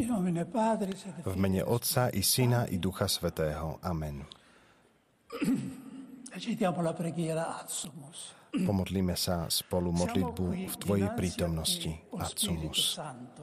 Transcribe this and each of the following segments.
V mene Otca i Syna i Ducha Svätého. Amen. Pomodlíme sa spolu modlitbu v Tvojej prítomnosti, Atsumus.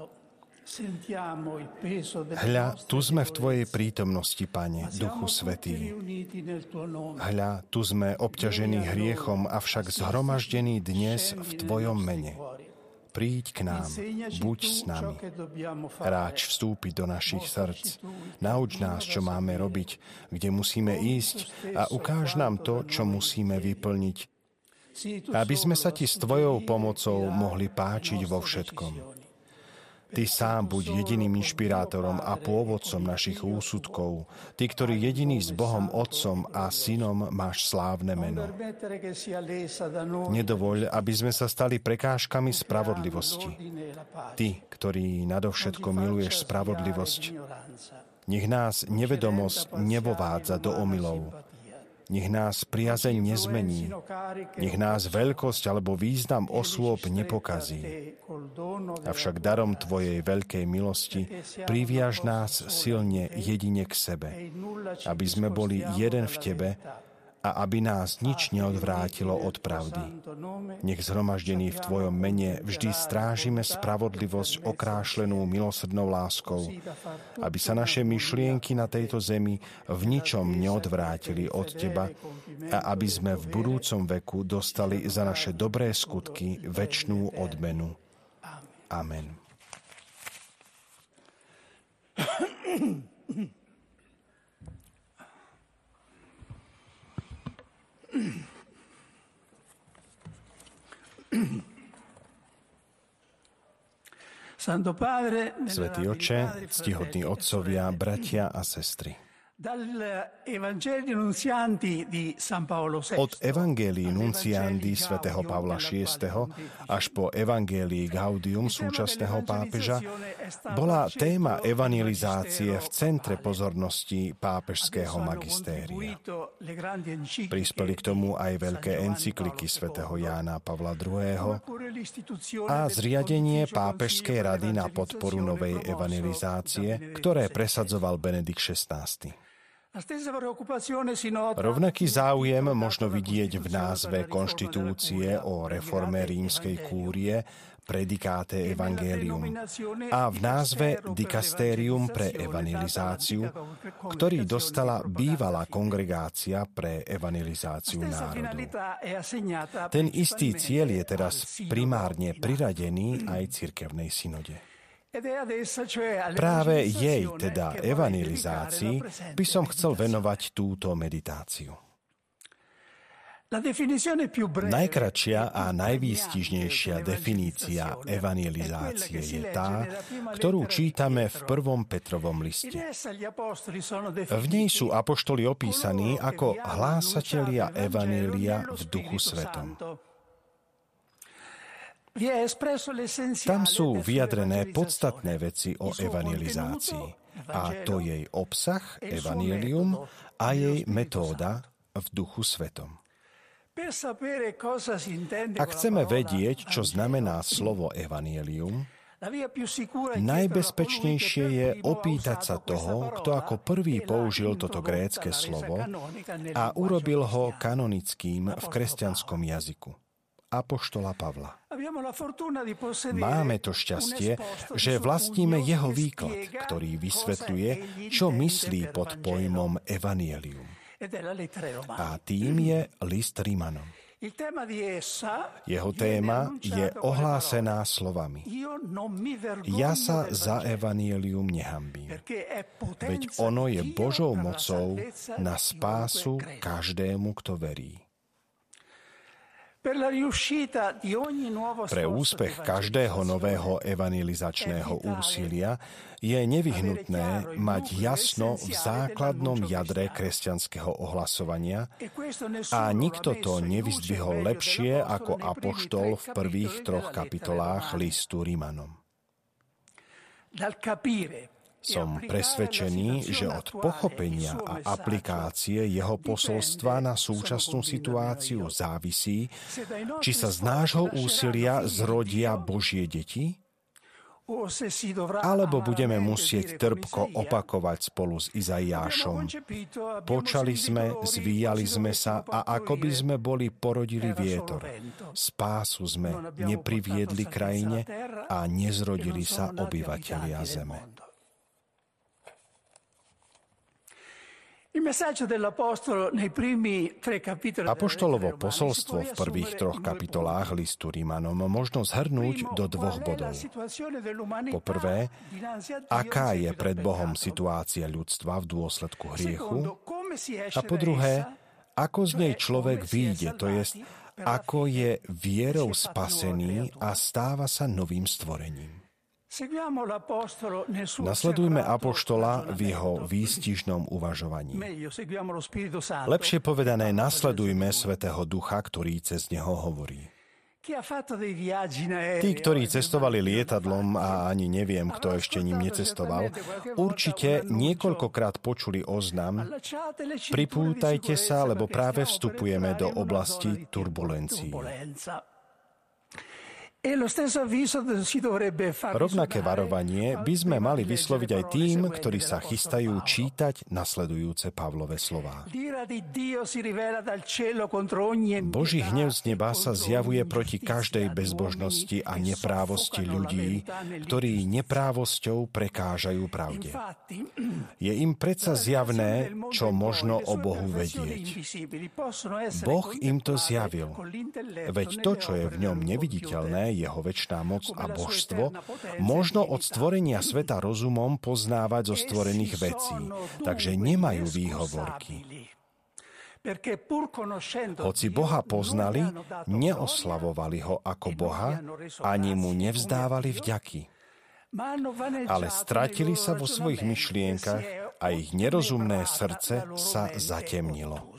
Hľa, tu sme v Tvojej prítomnosti, Pane, Duchu Svätý. Hľa, tu sme obťažení hriechom, avšak zhromaždení dnes v Tvojom mene. Príď k nám, buď s nami. Ráč vstúpiť do našich srdc. Nauč nás, čo máme robiť, kde musíme ísť a ukáž nám to, čo musíme vyplniť, aby sme sa Ti s Tvojou pomocou mohli páčiť vo všetkom. Ty sám buď jediným inšpirátorom a pôvodcom našich úsudkov, Ty, ktorý jediný s Bohom Otcom a Synom máš slávne meno. Nedovoľ, aby sme sa stali prekážkami spravodlivosti. Ty, ktorý nadovšetko miluješ spravodlivosť, nech nás nevedomosť nevovádza do omylov. Nech nás priazeň nezmení. Nech nás veľkosť alebo význam osôb nepokazí. Avšak darom Tvojej veľkej milosti priviaž nás silne jedine k sebe, aby sme boli jeden v Tebe a aby nás nič neodvrátilo od pravdy. Nech zhromaždení v Tvojom mene vždy strážime spravodlivosť okrášlenú milosrdnou láskou, aby sa naše myšlienky na tejto zemi v ničom neodvrátili od Teba a aby sme v budúcom veku dostali za naše dobré skutky večnú odmenu. Amen. Svätý Otče, ctihodní otcovia, bratia a sestry. Od Evangelii Nunciandi svätého Pavla VI. Až po Evangelii Gaudium súčasného pápeža bola téma evangelizácie v centre pozornosti pápežského magistéria. Prispeli k tomu aj veľké encykliky svätého Jána Pavla II. A zriadenie pápežskej rady na podporu novej evangelizácie, ktoré presadzoval Benedikt XVI. Rovnaký záujem možno vidieť v názve konštitúcie o reforme rímskej kúrie Praedicate Evangelium a v názve Dikastérium pre evangelizáciu, ktorý dostala bývalá kongregácia pre evangelizáciu národu. Ten istý cieľ je teraz primárne priradený aj cirkevnej synode. Práve jej, teda evangelizácii, by som chcel venovať túto meditáciu. Najkratšia a najvýstižnejšia definícia evangelizácie je tá, ktorú čítame v 1. Petrovom liste. V nej sú apoštoli opísaní ako hlásatelia evanjelia v Duchu Svetom. Tam sú vyjadrené podstatné veci o evangelizácii, a to jej obsah, evanjelium, a jej metóda v Duchu Svetom. Ak chceme vedieť, čo znamená slovo evanjelium, najbezpečnejšie je opýtať sa toho, kto ako prvý použil toto grécke slovo a urobil ho kanonickým v kresťanskom jazyku. Apoštola Pavla. Máme to šťastie, že vlastníme jeho výklad, ktorý vysvetľuje, čo myslí pod pojmom evanjelium. A tým je list Rimanom. Jeho téma je ohlásená slovami: Ja sa za evanjelium nehanbím, veď ono je Božou mocou na spásu každému, kto verí. Pre úspech každého nového evangelizačného úsilia je nevyhnutné mať jasno v základnom jadre kresťanského ohlasovania a nikto to nevyzdvihol lepšie ako apoštol v prvých 3 kapitolách listu Rimanom. Som presvedčený, že od pochopenia a aplikácie jeho posolstva na súčasnú situáciu závisí, či sa z nášho úsilia zrodia Božie deti, alebo budeme musieť trpko opakovať spolu s Izaiášom. Počali sme, zvíjali sme sa a ako by sme boli porodili vietor. Spásu sme nepriviedli krajine a nezrodili sa obyvatelia zeme. Apoštolovo posolstvo v prvých 3 kapitolách listu Rimanom možno zhrnúť do 2 bodov. Po prvé, aká je pred Bohom situácia ľudstva v dôsledku hriechu, a po druhé, ako z nej človek vyjde, to jest, ako je vierou spasený a stáva sa novým stvorením. Nasledujme apoštola v jeho výstižnom uvažovaní. Lepšie povedané, nasledujme Svätého Ducha, ktorý cez neho hovorí. Tí, ktorí cestovali lietadlom a ani neviem, kto ešte ním necestoval, určite niekoľkokrát počuli oznam: pripútajte sa, lebo práve vstupujeme do oblasti turbulencií. Rovnaké varovanie by sme mali vysloviť aj tým, ktorí sa chystajú čítať nasledujúce Pavlove slová. Boží hnev z neba sa zjavuje proti každej bezbožnosti a neprávosti ľudí, ktorí neprávosťou prekážajú pravde. Je im predsa zjavné, čo možno o Bohu vedieť. Boh im to zjavil, veď to, čo je v ňom neviditeľné, jeho večná moc a božstvo, možno od stvorenia sveta rozumom poznávať zo stvorených vecí, takže nemajú výhovorky. Hoci Boha poznali, neoslavovali ho ako Boha, ani mu nevzdávali vďaky. Ale stratili sa vo svojich myšlienkach a ich nerozumné srdce sa zatemnilo.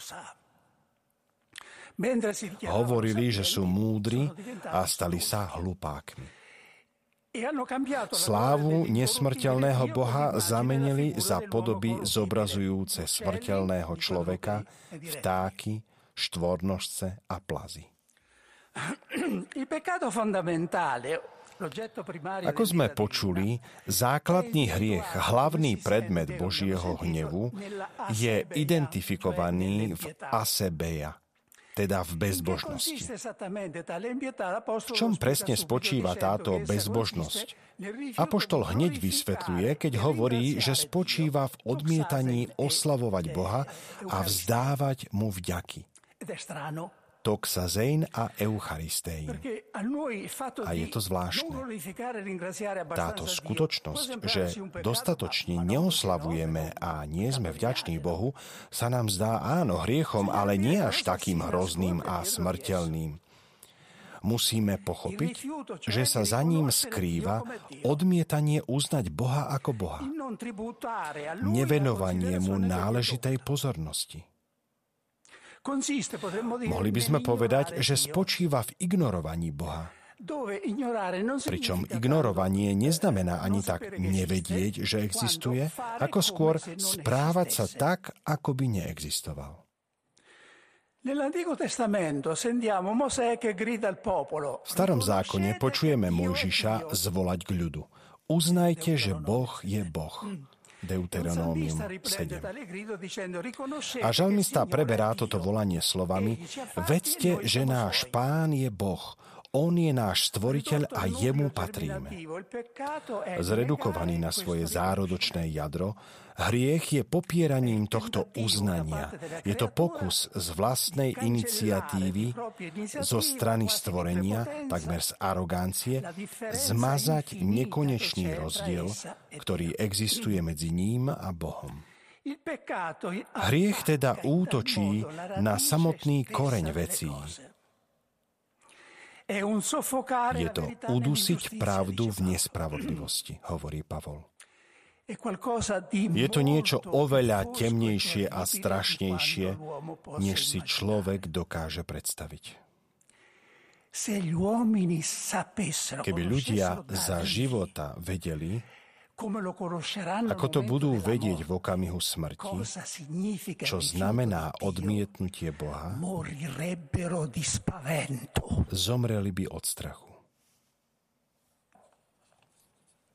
Hovorili, že sú múdri a stali sa hlupákmi. Slávu nesmrteľného Boha zamenili za podoby zobrazujúce smrteľného človeka, vtáky, štvornožce a plazy. Ako sme počuli, základný hriech, hlavný predmet Božieho hnevu, je identifikovaný v asebeia, teda v bezbožnosti. V čom presne spočíva táto bezbožnosť? Apoštol hneď vysvetľuje, keď hovorí, že spočíva v odmietaní oslavovať Boha a vzdávať mu vďaky. Toxazein a eucharistein. A je to zvláštne. Táto skutočnosť, že dostatočne neoslavujeme a nie sme vďační Bohu, sa nám zdá áno hriechom, ale nie až takým hrozným a smrteľným. Musíme pochopiť, že sa za ním skrýva odmietanie uznať Boha ako Boha. Nevenovanie mu náležitej pozornosti. Mohli by sme povedať, že spočíva v ignorovaní Boha. Pričom ignorovanie neznamená ani tak nevedieť, že existuje, ako skôr správať sa tak, ako by neexistoval. V Starom zákone počujeme Mojžiša zvolať k ľudu: uznajte, že Boh je Boh. Deuteronómium 7. A žalmista preberá toto volanie slovami: vedzte, že náš Pán je Boh, on je náš stvoriteľ a jemu patríme. Zredukovaný na svoje zárodočné jadro, hriech je popieraním tohto uznania. Je to pokus z vlastnej iniciatívy zo strany stvorenia, takmer z arogancie, zmazať nekonečný rozdiel, ktorý existuje medzi ním a Bohom. Hriech teda útočí na samotný koreň vecí. Je to udusiť pravdu v nespravodlivosti, hovorí Pavol. Je to niečo oveľa temnejšie a strašnejšie, než si človek dokáže predstaviť. Keby ľudia za života vedeli, ako to budú vedieť v okamihu smrti, čo znamená odmietnutie Boha, zomreli by od strachu.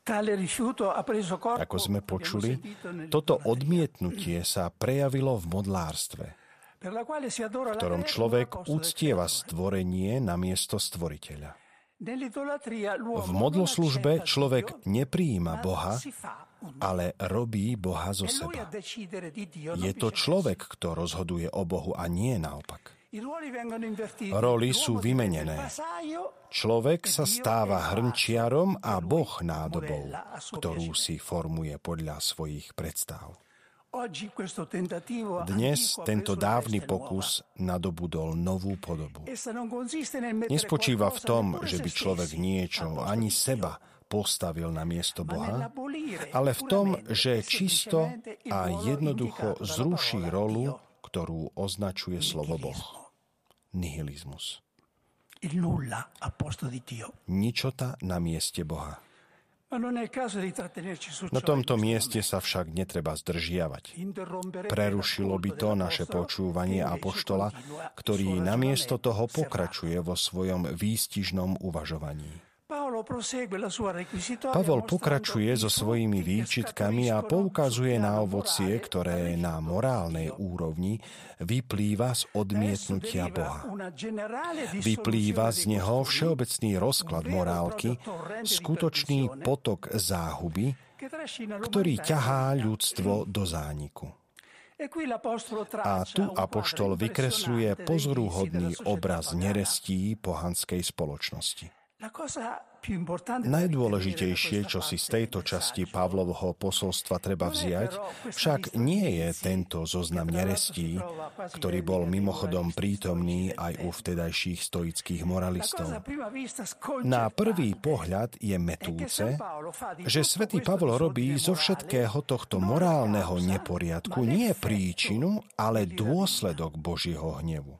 Ako sme počuli, toto odmietnutie sa prejavilo v modlárstve, v ktorom človek uctieva stvorenie namiesto stvoriteľa. V modloslužbe človek neprijíma Boha, ale robí Boha zo seba. Je to človek, kto rozhoduje o Bohu a nie naopak. Roli sú vymenené. Človek sa stáva hrnčiarom a Boh nádobou, ktorú si formuje podľa svojich predstav. Dnes tento dávny pokus nadobudol novú podobu. Nespočíva v tom, že by človek niečo, ani seba, postavil na miesto Boha, ale v tom, že čisto a jednoducho zruší rolu, ktorú označuje slovo Boh. Nihilizmus. Ničota na mieste Boha. Na tomto mieste sa však netreba zdržiavať. Prerušilo by to naše počúvanie apoštola, ktorý namiesto toho pokračuje vo svojom výstižnom uvažovaní. Pavol pokračuje so svojimi výčitkami a poukazuje na ovocie, ktoré na morálnej úrovni vyplýva z odmietnutia Boha. Vyplýva z neho všeobecný rozklad morálky, skutočný potok záhuby, ktorý ťahá ľudstvo do zániku. A tu apoštol vykresľuje pozoruhodný obraz nerestí pohanskej spoločnosti. Najdôležitejšie, čo si z tejto časti Pavlovho posolstva treba vziať, však nie je tento zoznam nerestí, ktorý bol mimochodom prítomný aj u vtedajších stoických moralistov. Na prvý pohľad je mätúce, že svätý Pavol robí zo všetkého tohto morálneho neporiadku nie príčinu, ale dôsledok Božieho hnevu.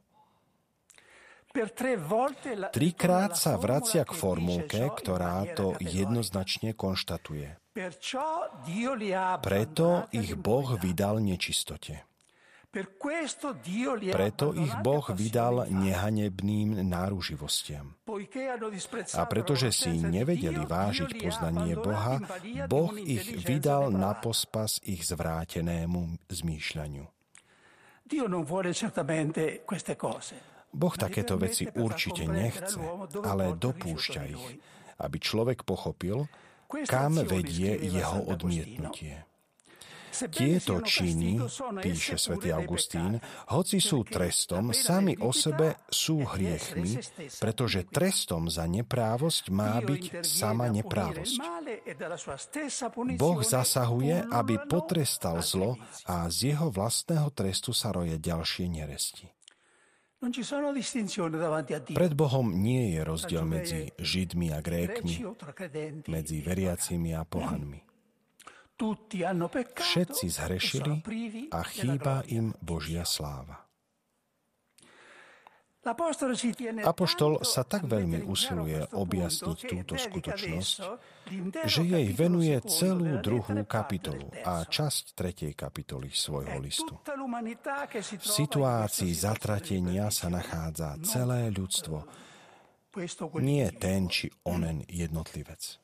Trikrát sa vracia k formulke, ktorá to jednoznačne konštatuje. Preto ich Boh vydal nečistote. Preto ich Boh vydal nehanebným náruživostiam. A pretože si nevedeli vážiť poznanie Boha, Boh ich vydal na pospas ich zvrátenému zmýšľaniu. Boh takéto veci určite nechce, ale dopúšťa ich, aby človek pochopil, kam vedie jeho odmietnutie. Tieto činy, píše svätý Augustín, hoci sú trestom, sami o sebe sú hriechmi, pretože trestom za neprávosť má byť sama neprávosť. Boh zasahuje, aby potrestal zlo a z jeho vlastného trestu sa roje ďalšie neresti. Pred Bohom nie je rozdiel medzi Židmi a Grékmi, medzi veriacimi a pohanmi. Všetci zhrešili a chýba im Božia sláva. Apoštol sa tak veľmi usiluje objasniť túto skutočnosť, že jej venuje celú 2. kapitolu a časť 3. kapitoly svojho listu. V situácii zatratenia sa nachádza celé ľudstvo, nie ten či onen jednotlivec.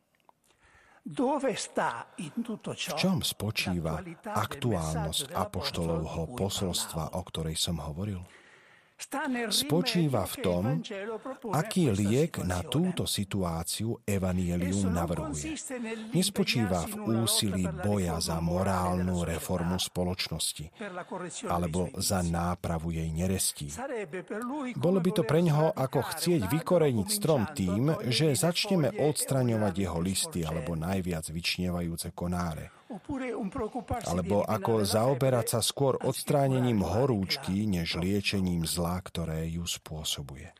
V čom spočíva aktuálnosť apoštolovho posolstva, o ktorej som hovoril? Spočíva v tom, aký liek na túto situáciu evanjelium navrhuje. Nespočíva v úsilí boja za morálnu reformu spoločnosti alebo za nápravu jej nerestí. Bolo by to preňho ako chcieť vykoreniť strom tým, že začneme odstraňovať jeho listy alebo najviac vyčnievajúce konáre. Alebo ako zaoberať sa skôr odstránením horúčky, než liečením zla, ktoré ju spôsobuje.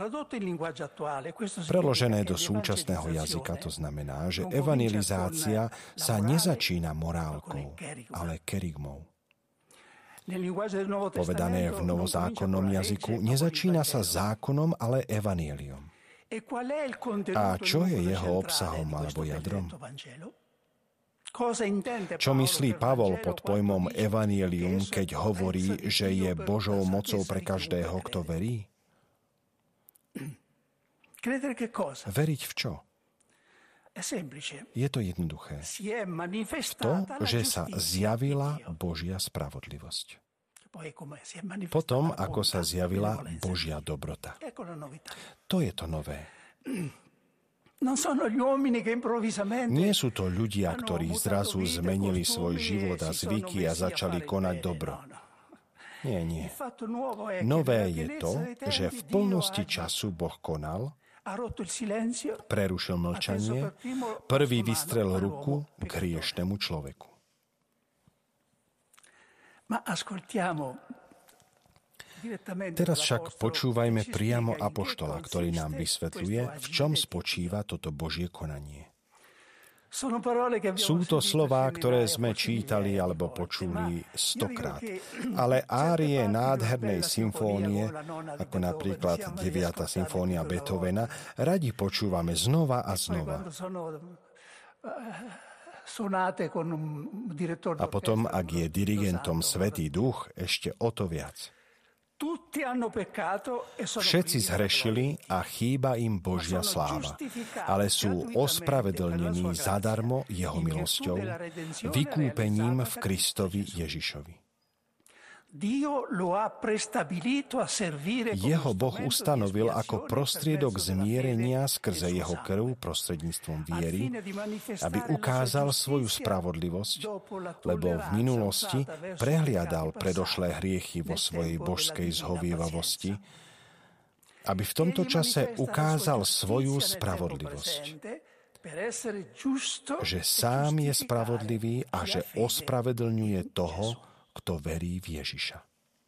Preložené do súčasného jazyka to znamená, že evangelizácia sa nezačína morálkou, ale kerygmou. Povedané v novozákonnom jazyku, nezačína sa zákonom, ale evanjeliom. A čo je jeho obsahom alebo jadrom? Čo myslí Pavol pod pojmom evanjelium, keď hovorí, že je Božou mocou pre každého, kto verí? Veriť v čo? Je to jednoduché. To, že sa zjavila Božia spravodlivosť. Potom, ako sa zjavila Božia dobrota. To je to nové. Nie sú to ľudia, ktorí zrazu zmenili svoj život a zvyky a začali konať dobro. Nie. Nové je to, že v plnosti času Boh konal, prerušil mlčanie, prvý vystrel ruku k hriešnemu človeku. Teraz však počúvajme priamo apoštola, ktorý nám vysvetľuje, v čom spočíva toto Božie konanie. Sú to slová, ktoré sme čítali alebo počuli 100-krát. Ale árie nádhernej symfónie, ako napríklad 9. symfónia Beethovena, radi počúvame znova a znova. A potom, ak je dirigentom Svätý Duch, ešte o to viac. Všetci zhrešili a chýba im Božia sláva, ale sú ospravedlnení zadarmo jeho milosťou, vykúpením v Kristovi Ježišovi. Jeho Boh ustanovil ako prostriedok zmierenia skrze jeho krv prostredníctvom viery, aby ukázal svoju spravodlivosť, lebo v minulosti prehliadal predošlé hriechy vo svojej božskej zhovievavosti, aby v tomto čase ukázal svoju spravodlivosť, že sám je spravodlivý a že ospravedlňuje toho, kto verí v Ježiša.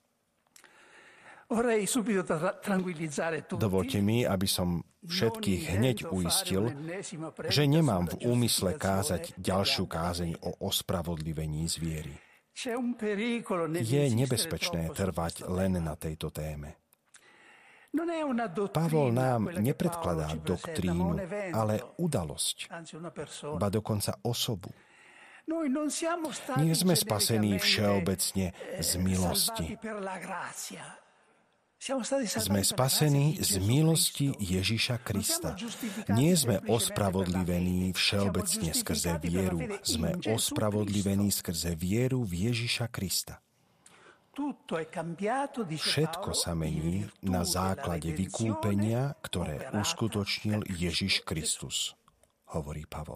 Dovoľte mi, aby som všetkých hneď uistil, že nemám v úmysle kázať ďalšiu kázeň o ospravodlivení z viery. Je nebezpečné trvať len na tejto téme. Pavol nám nepredkladá doktrínu, ale udalosť, ba dokonca osobu. Nie sme spasení všeobecne z milosti. Sme spasení z milosti Ježiša Krista. Nie sme ospravodlivení všeobecne skrze vieru. Sme ospravodlivení skrze vieru v Ježiša Krista. Všetko sa mení na základe vykúpenia, ktoré uskutočnil Ježiš Kristus, hovorí Pavol.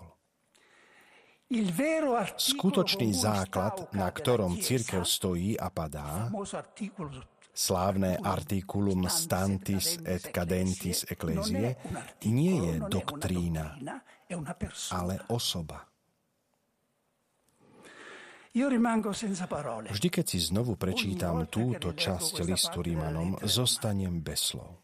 Skutočný základ, na ktorom cirkev stojí a padá, slávne articulum stantis et cadentis ecclesiae, nie je doktrína, ale osoba. Vždy, keď si znovu prečítam túto časť listu Rimanom, zostanem bez slov.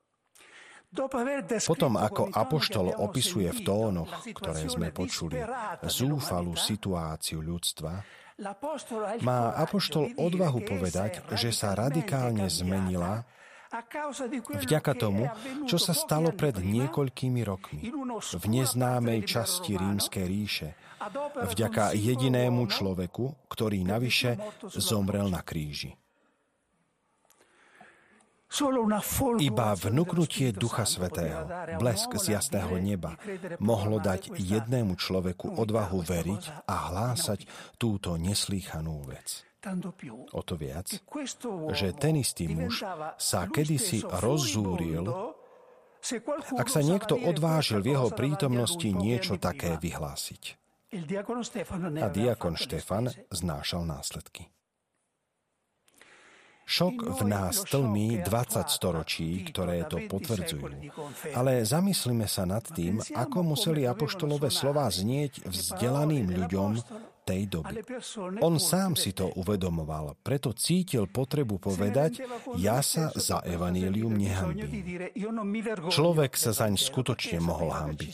Potom, ako apoštol opisuje v tónoch, ktoré sme počuli, zúfalú situáciu ľudstva, má apoštol odvahu povedať, že sa radikálne zmenila vďaka tomu, čo sa stalo pred niekoľkými rokmi v neznámej časti Rímskej ríše, vďaka jedinému človeku, ktorý navyše zomrel na kríži. Iba vnuknutie Ducha Svätého, blesk z jasného neba, mohlo dať jednému človeku odvahu veriť a hlásať túto neslýchanú vec. O to viac, že ten istý muž sa kedysi rozzúril, ak sa niekto odvážil v jeho prítomnosti niečo také vyhlásiť. A diakon Štefan znášal následky. Šok v nás tlmí 20 storočí, ktoré to potvrdzujú. Ale zamyslíme sa nad tým, ako museli apoštolové slová znieť vzdelaným ľuďom tej doby. On sám si to uvedomoval, preto cítil potrebu povedať, ja sa za evanjelium nehanbím. Človek sa zaň skutočne mohol hanbiť.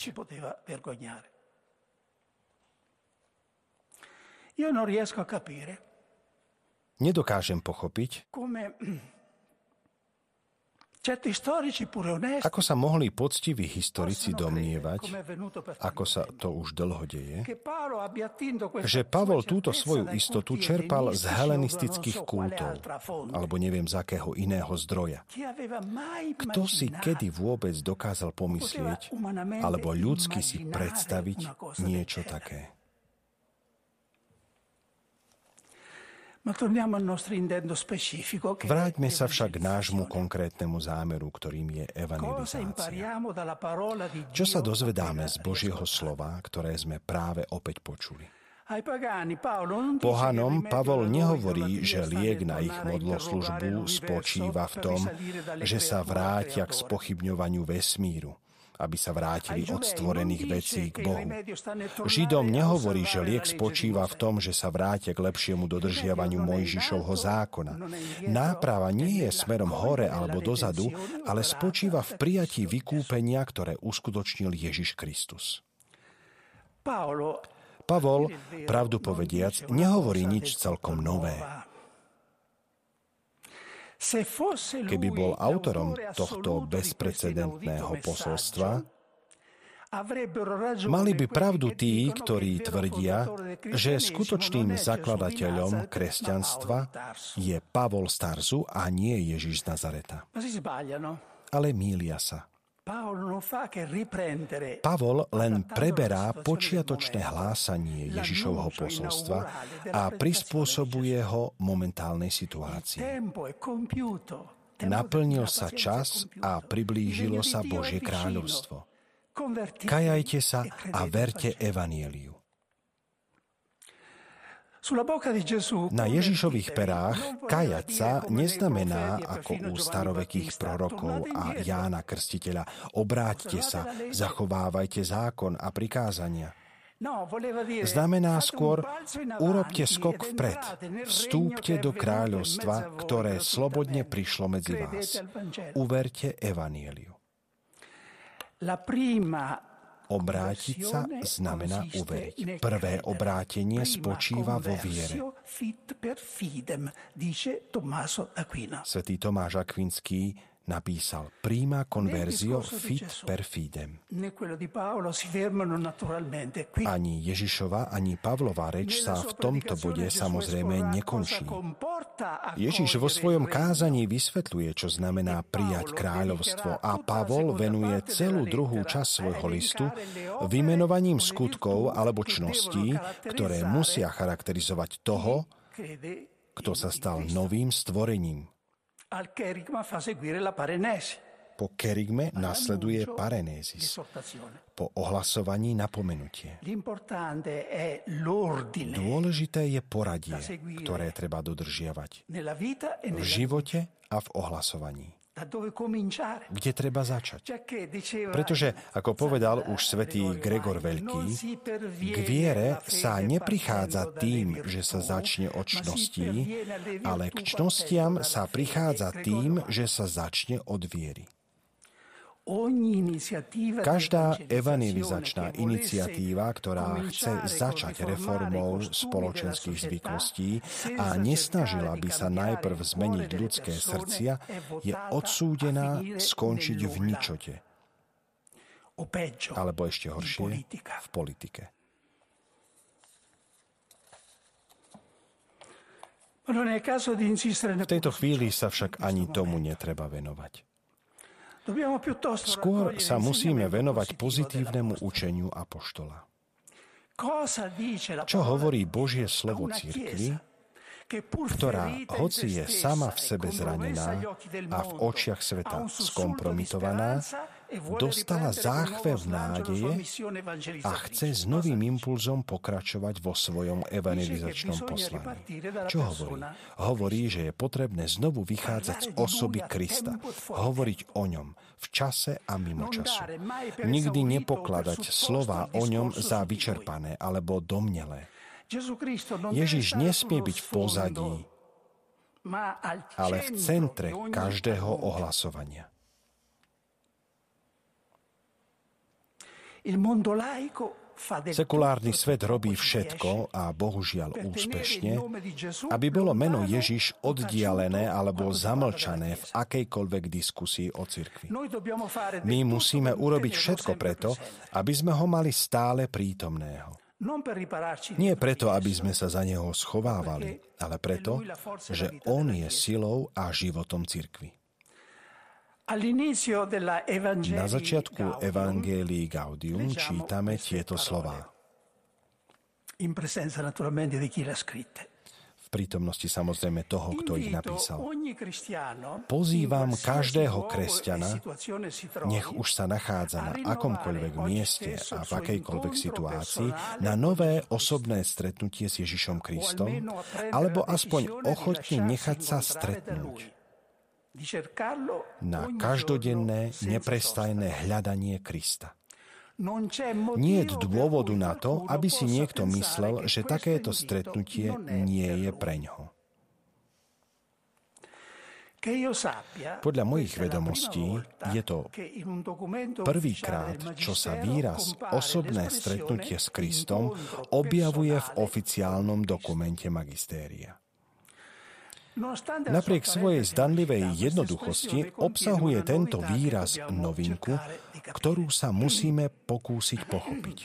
Nedokážem pochopiť, Ako sa mohli poctiví historici domnievať, ako sa to už dlho deje, že Pavol túto svoju istotu čerpal z helenistických kultov, alebo neviem z akého iného zdroja. Kto si kedy vôbec dokázal pomyslieť, alebo ľudsky si predstaviť niečo také? Vráťme sa však k nášmu konkrétnemu zámeru, ktorým je evangelizácia. Čo sa dozvedáme z Božieho slova, ktoré sme práve opäť počuli? Pohanom Pavol nehovorí, že liek na ich modloslužbu spočíva v tom, že sa vrátia k spochybňovaniu vesmíru, aby sa vrátili od stvorených vecí k Bohu. Židom nehovorí, že liek spočíva v tom, že sa vrátia k lepšiemu dodržiavaniu Mojžišovho zákona. Náprava nie je smerom hore alebo dozadu, ale spočíva v prijatí vykúpenia, ktoré uskutočnil Ježiš Kristus. Pavol, pravdu povediac, nehovorí nič celkom nové. Keby bol autorom tohto bezprecedentného posolstva, mali by pravdu tí, ktorí tvrdia, že skutočným zakladateľom kresťanstva je Pavol z Tarzu a nie Ježiš z Nazareta. Ale mýlia sa. Pavol len preberá počiatočné hlásanie Ježišovho posolstva a prispôsobuje ho momentálnej situácii. Naplnil sa čas a priblížilo sa Božie kráľovstvo. Kajajte sa a verte evanjeliu. Na Ježišových perách kajať sa neznamená, ako u starovekých prorokov a Jána Krstiteľa, obráťte sa, zachovávajte zákon a prikázania. Znamená skôr, urobte skok vpred, vstúpte do kráľovstva, ktoré slobodne prišlo medzi vás. Uverte evanjeliu. Obrátiť sa znamená uveriť. Prvé obrátenie spočíva vo viere. Svätý Tomáš Akvinský napísal prima conversio fit per fidem. Ani Ježišova, ani Pavlova reč sa v tomto bode samozrejme nekončí. Ježiš vo svojom kázaní vysvetľuje, čo znamená prijať kráľovstvo a Pavol venuje celú druhú časť svojho listu vymenovaním skutkov alebo čností, ktoré musia charakterizovať toho, kto sa stal novým stvorením. Po kerygme nasleduje parenézis. Po ohlasovaní napomenutie. Dôležité je poradie, ktoré treba dodržiavať v živote a v ohlasovaní. Kde treba začať? Pretože, ako povedal už svätý Gregor Veľký, k viere sa neprichádza tým, že sa začne od čností, ale k čnostiam sa prichádza tým, že sa začne od viery. Každá evangelizačná iniciatíva, ktorá chce začať reformou spoločenských zvyklostí a nesnažila by sa najprv zmeniť ľudské srdcia, je odsúdená skončiť v ničote. Alebo ešte horšie, v politike. V tejto chvíli sa však ani tomu netreba venovať. Skôr sa musíme venovať pozitívnemu učeniu apoštola. Čo hovorí Božie slovo cirkvi, ktorá, hoci je sama v sebe zranená a v očiach sveta skompromitovaná, dostala záchvev nádeje a chce s novým impulzom pokračovať vo svojom evangelizačnom poslaní. Čo hovorí? Hovorí, že je potrebné znovu vychádzať z osoby Krista, hovoriť o ňom v čase a mimo času. Nikdy nepokladať slová o ňom za vyčerpané alebo domnelé. Ježiš nesmie byť v pozadí, ale v centre každého ohlasovania. Sekulárny svet robí všetko a bohužiaľ úspešne, aby bolo meno Ježiš oddialené alebo zamlčané v akejkoľvek diskusii o cirkvi. My musíme urobiť všetko preto, aby sme ho mali stále prítomného. Nie preto, aby sme sa za neho schovávali, ale preto, že on je silou a životom cirkvi. Na začiatku Evangelii Gaudium čítame tieto slová. V prítomnosti samozrejme toho, kto ich napísal. Pozývam každého kresťana, nech už sa nachádza na akomkoľvek mieste a v akejkoľvek situácii, na nové osobné stretnutie s Ježišom Kristom, alebo aspoň ochotne nechať sa stretnúť. Na každodenné, neprestajné hľadanie Krista. Nie je dôvodu na to, aby si niekto myslel, že takéto stretnutie nie je preňho. Podľa mojich vedomostí je to prvýkrát, čo sa výraz osobné stretnutie s Kristom objavuje v oficiálnom dokumente magistéria. Napriek svojej zdanlivej jednoduchosti obsahuje tento výraz novinku, ktorú sa musíme pokúsiť pochopiť.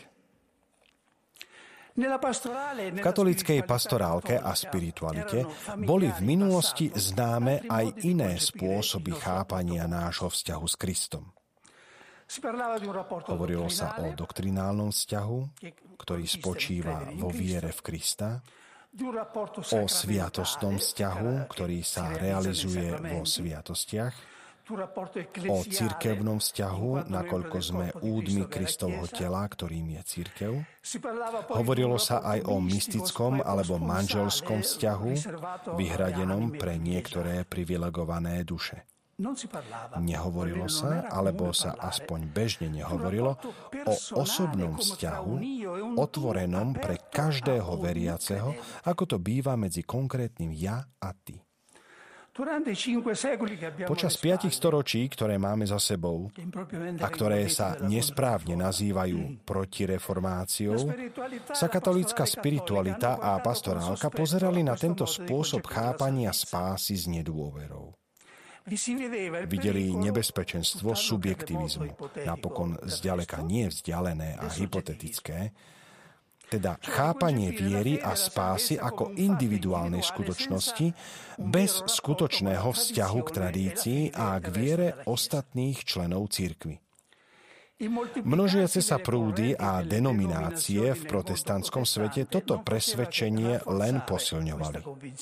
V katolíckej pastorálke a spiritualite boli v minulosti známe aj iné spôsoby chápania nášho vzťahu s Kristom. Hovorilo sa o doktrinálnom vzťahu, ktorý spočíva vo viere v Krista, o sviatostnom vzťahu, ktorý sa realizuje vo sviatostiach, o cirkevnom vzťahu, nakoľko sme údmi Kristovho tela, ktorým je cirkev. Hovorilo sa aj o mystickom alebo manželskom vzťahu, vyhradenom pre niektoré privilegované duše. Nehovorilo sa, alebo sa aspoň bežne nehovorilo, o osobnom vzťahu, otvorenom pre každého veriaceho, ako to býva medzi konkrétnym ja a ty. Počas 5 storočí, ktoré máme za sebou a ktoré sa nesprávne nazývajú protireformáciou, sa katolícka spiritualita a pastorálka pozerali na tento spôsob chápania spásy s nedôverou. Videli nebezpečenstvo subjektivizmu, napokon zďaleka nie vzdialené a hypotetické, teda chápanie viery a spásy ako individuálnej skutočnosti bez skutočného vzťahu k tradícii a k viere ostatných členov cirkvi. Množiace sa prúdy a denominácie v protestantskom svete toto presvedčenie len posilňovali.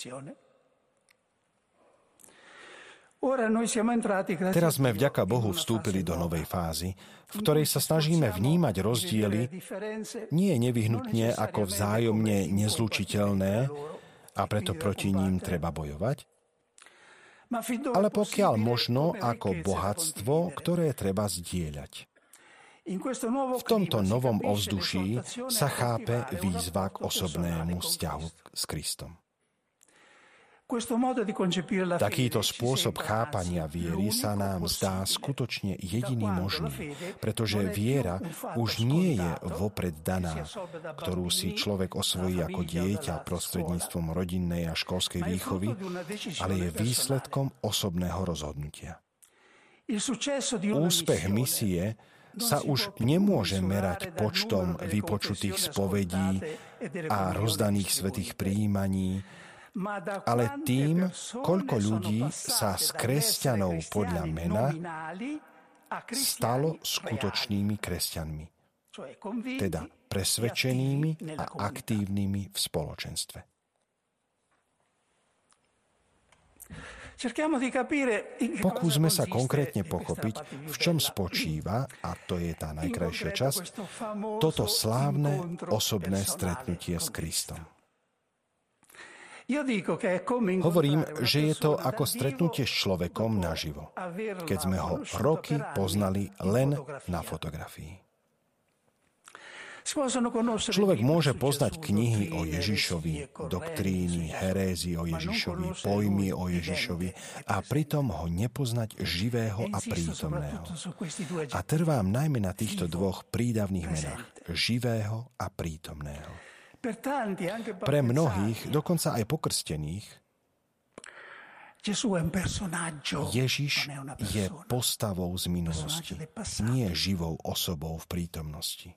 Teraz sme vďaka Bohu vstúpili do novej fázy, v ktorej sa snažíme vnímať rozdiely nie nevyhnutne ako vzájomne nezlučiteľné a preto proti ním treba bojovať, ale pokiaľ možno ako bohatstvo, ktoré treba zdieľať. V tomto novom ovzduší sa chápe výzva k osobnému vzťahu s Kristom. Takýto spôsob chápania viery sa nám zdá skutočne jediný možný, pretože viera už nie je vopred daná, ktorú si človek osvojí ako dieťa prostredníctvom rodinnej a školskej výchovy, ale je výsledkom osobného rozhodnutia. Úspech misie sa už nemôže merať počtom vypočutých spovedí a rozdaných svätých prijímaní, ale tým, koľko ľudí sa z kresťanov podľa mena stalo skutočnými kresťanmi, teda presvedčenými a aktívnymi v spoločenstve. Pokúsme sa konkrétne pochopiť, v čom spočíva, a to je tá najkrajšia časť, toto slávne osobné stretnutie s Kristom. Hovorím, že je to ako stretnutie s človekom naživo, keď sme ho roky poznali len na fotografii. Človek môže poznať knihy o Ježišovi, doktríny, herézy o Ježišovi, pojmy o Ježišovi a pritom ho nepoznať živého a prítomného. A trvám najmä na týchto dvoch prídavných menách, živého a prítomného. Pre mnohých, dokonca aj pokrstených, Ježiš je postavou z minulosti, nie živou osobou v prítomnosti.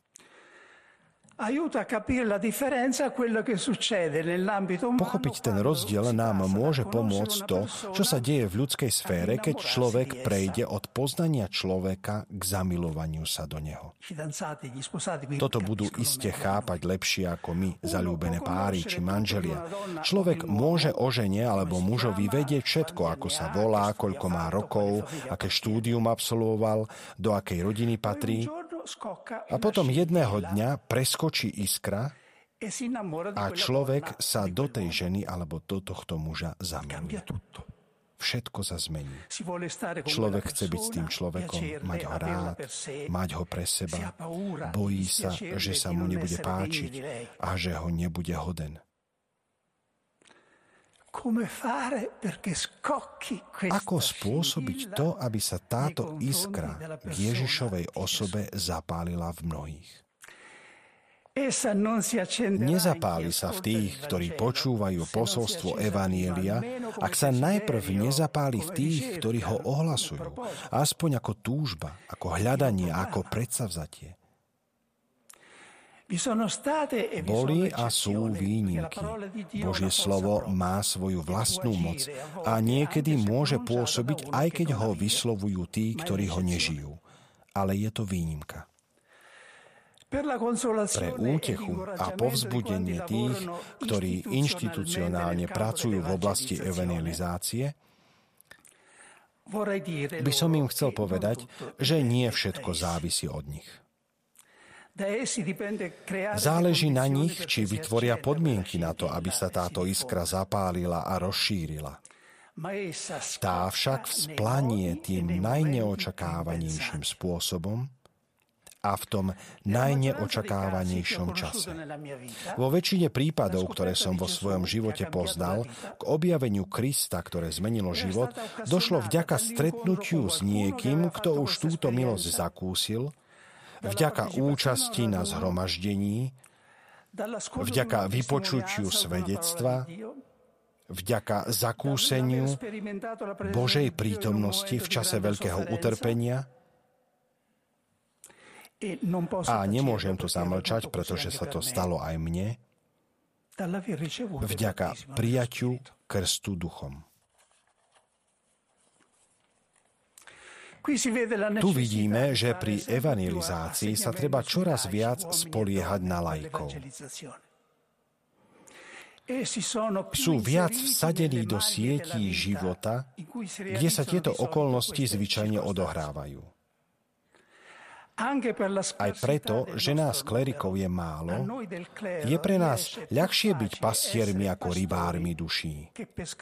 Pochopiť ten rozdiel nám môže pomôcť to, čo sa deje v ľudskej sfére, keď človek prejde od poznania človeka k zamilovaniu sa do neho. Toto budú iste chápať lepšie ako my, zaľúbené páry či manželia. Človek môže o žene alebo mužovi vedieť všetko, ako sa volá, koľko má rokov, aké štúdium absolvoval, do akej rodiny patrí. A potom jedného dňa preskočí iskra a človek sa do tej ženy alebo do tohto muža zamiluje. Všetko sa zmení. Človek chce byť s tým človekom, mať ho rád, mať ho pre seba. Bojí sa, že sa mu nebude páčiť a že ho nebude hoden. Ako spôsobiť to, aby sa táto iskra k Ježišovej osobe zapálila v mnohých? Nezapáli sa v tých, ktorí počúvajú posolstvo Evanjelia, ak sa najprv nezapáli v tých, ktorí ho ohlasujú, aspoň ako túžba, ako hľadanie, ako predsavzatie. Boli a sú výnimky. Božie slovo má svoju vlastnú moc a niekedy môže pôsobiť, aj keď ho vyslovujú tí, ktorí ho nežijú. Ale je to výnimka. Pre útechu a povzbudenie tých, ktorí inštitucionálne pracujú v oblasti evangelizácie, by som im chcel povedať, že nie všetko závisí od nich. Záleží na nich, či vytvoria podmienky na to, aby sa táto iskra zapálila a rozšírila. Tá však vzplanie tým najneočakávanejším spôsobom a v tom najneočakávanejšom čase. Vo väčšine prípadov, ktoré som vo svojom živote poznal, k objaveniu Krista, ktoré zmenilo život, došlo vďaka stretnutiu s niekým, kto už túto milosť zakúsil, vďaka účasti na zhromaždení, vďaka vypočutiu svedectva, vďaka zakúseniu Božej prítomnosti v čase veľkého utrpenia. A nemôžem to zamlčať, pretože sa to stalo aj mne, vďaka prijaťu krstu duchom. Tu vidíme, že pri evangelizácii sa treba čoraz viac spoliehať na laikov. Sú viac vsadení do sietí života, kde sa tieto okolnosti zvyčajne odohrávajú. Aj preto, že nás klerikov je málo, je pre nás ľahšie byť pastiermi ako rybármi duší.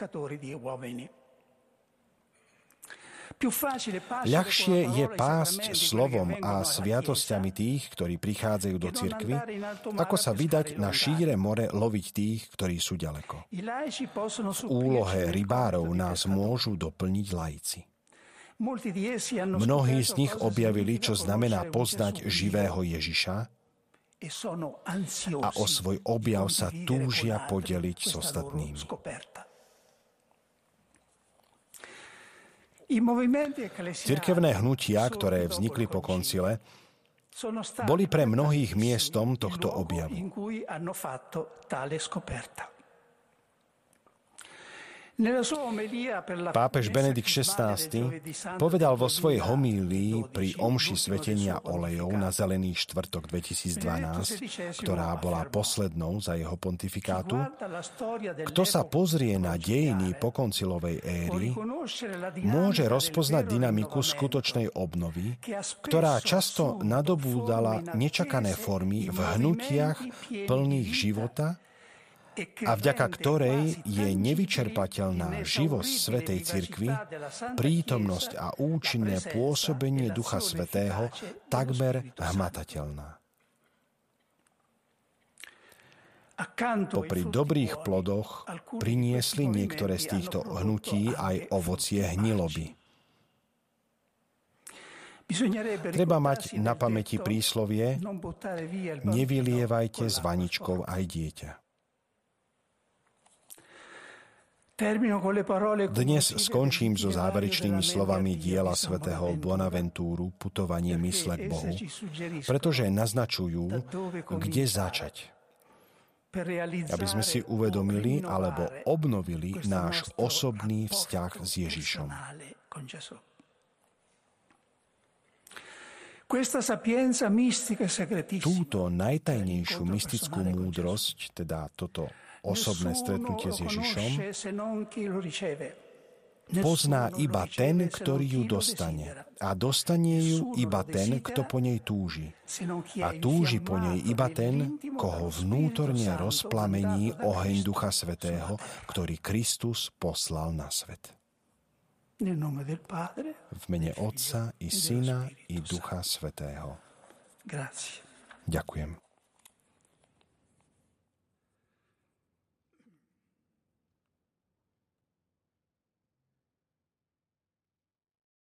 Ľahšie je pásť slovom a sviatosťami tých, ktorí prichádzajú do cirkvi, ako sa vydať na šíre more loviť tých, ktorí sú ďaleko. V úlohe rybárov nás môžu doplniť laici. Mnohí z nich objavili, čo znamená poznať živého Ježiša a o svoj objav sa túžia podeliť s ostatnými. Cirkevné hnutia, ktoré vznikli po koncile, boli pre mnohých miestom tohto objavu. Pápež Benedikt XVI povedal vo svojej homílii pri omši svetenia olejov na Zelený štvrtok 2012, ktorá bola poslednou za jeho pontifikátu: kto sa pozrie na dejiny pokoncilovej éry, môže rozpoznať dynamiku skutočnej obnovy, ktorá často nadobúdala nečakané formy v hnutiach plných života a vďaka ktorej je nevyčerpateľná živosť Svätej Cirkvi, prítomnosť a účinné pôsobenie Ducha Svätého takmer hmatateľná. Popri dobrých plodoch priniesli niektoré z týchto hnutí aj ovocie hniloby. Treba mať na pamäti príslovie: nevylievajte s vaničkou aj dieťa. Dnes skončím so záverečnými slovami diela svätého Bonaventúru Putovanie mysle k Bohu, pretože naznačujú, kde začať, aby sme si uvedomili alebo obnovili náš osobný vzťah s Ježišom. Túto najtajnejšiu mystickú múdrosť, teda toto osobné stretnutie s Ježišom, pozná iba ten, ktorý ju dostane. A dostane ju iba ten, kto po nej túži. A túži po nej iba ten, koho vnútorne rozplamení oheň Ducha Svätého, ktorý Kristus poslal na svet. V mene Otca i Syna i Ducha Svätého. Ďakujem.